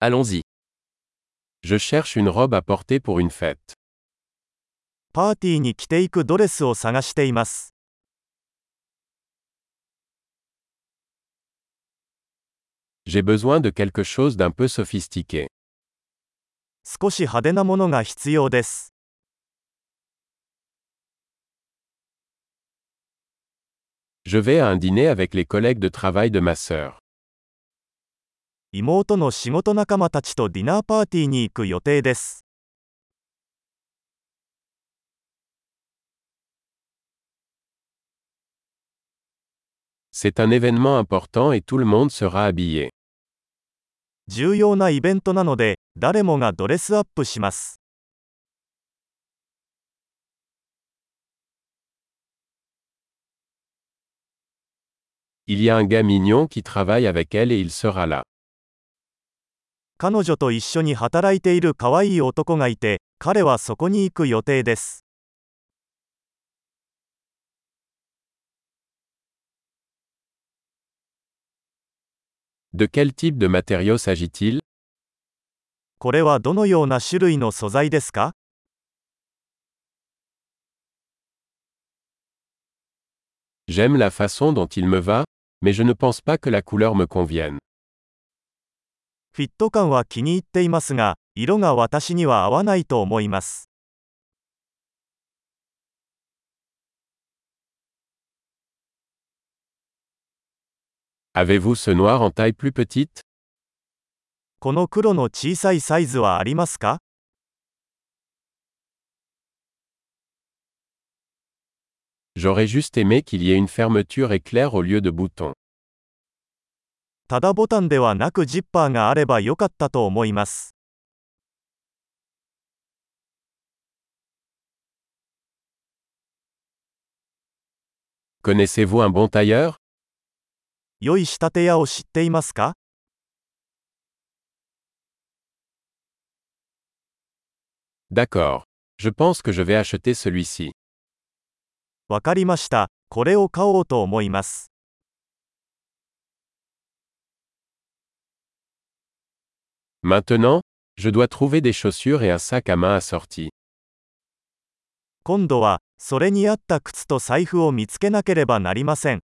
Allons-y. Je cherche une robe à porter pour une fête. パーティーに着ていくドレスを探しています。 J'ai besoin de quelque chose d'un peu sophistiqué. 少し派手なものが必要です。 Je vais à un dîner avec les collègues de travail de ma sœur. 妹の仕事仲間たちとディナーパーティーに行く予定です。 C'est un événement important et tout le monde sera habillé. 重要なイベントなので、誰もがドレスアップします。 Il y a un gars mignon qui travaille avec elle et il sera là. 彼女と一緒に働いている可愛い男がいて、彼はそこに行く予定です。 De quel type de matériau s'agit-il? これはどのような種類の素材ですか？ J'aime la façon dont il me va, mais je ne pense pas que la couleur me convienne. フィット感は気に入っていますが、色が私には合わないと思います。 Avez-vous ce noir en taille plus petite? この黒の小さいサイズはありますか？ J'aurais juste aimé qu'il y ait une fermeture éclair au lieu de boutons. ただボタンではなくジッパーがあればよかったと思います。 Connaissez-vous un bon tailleur? 良い仕立て屋を知っていますか？ D'accord. Je pense que je vais acheter celui-ci. わかりました。これを買おうと思います。 Maintenant, je dois trouver des chaussures et un sac à main assortis. 今度は、それに合った靴と財布を見つけなければなりません。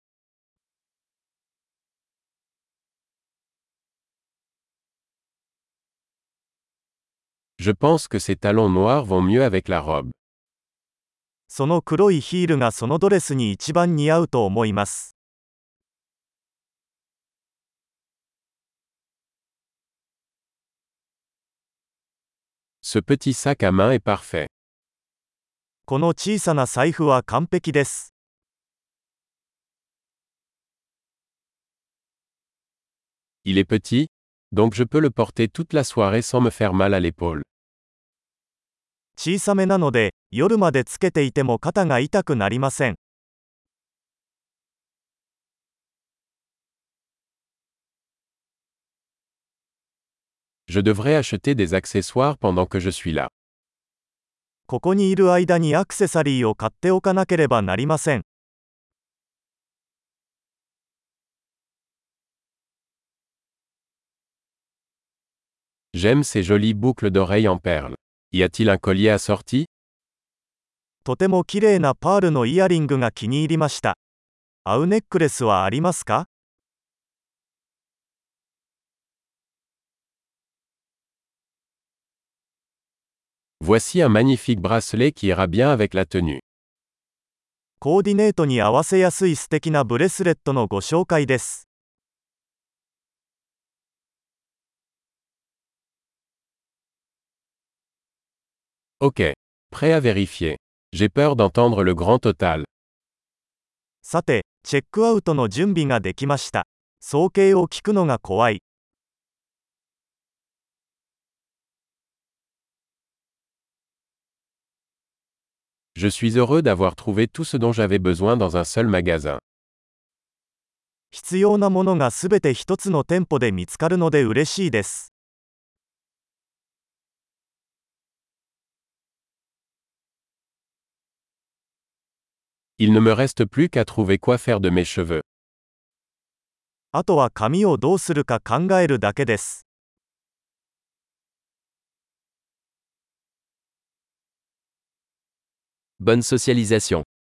Je pense que ces talons noirs vont mieux avec la robe. その黒いヒールがそのドレスに一番似合うと思います。 Ce petit sac à main est parfait. この小さな財布は完璧です。 Il est petit, donc je peux le porter toute la soirée sans me faire mal à l'épaule. 小さめなので、夜までつけていても肩が痛くなりません。 Je devrais acheter des accessoires pendant que je suis là. ここにいる間にアクセサリーを買っておかなければなりません。 J'aime ces jolies boucles d'oreilles en perles. Y a-t-il un collier assorti? とても綺麗なパールのイヤリングが気に入りました。合うネックレスはありますか？ Voici un magnifique bracelet qui ira bien avec la tenue. コーディネートに合わせやすい素敵なブレスレットのご紹介です。 Ok. Prêt à vérifier. J'ai peur d'entendre le grand total. さて、チェックアウトの準備ができました。総計を聞くのが怖い。 Je suis heureux d'avoir trouvé tout ce dont j'avais besoin dans un seul magasin. 必要なものがすべて一つの店舗で見つかるので嬉しいです。 Il ne me reste plus qu'à trouver quoi faire de mes cheveux. あとは髪をどうするか考えるだけです。 Bonne socialisation.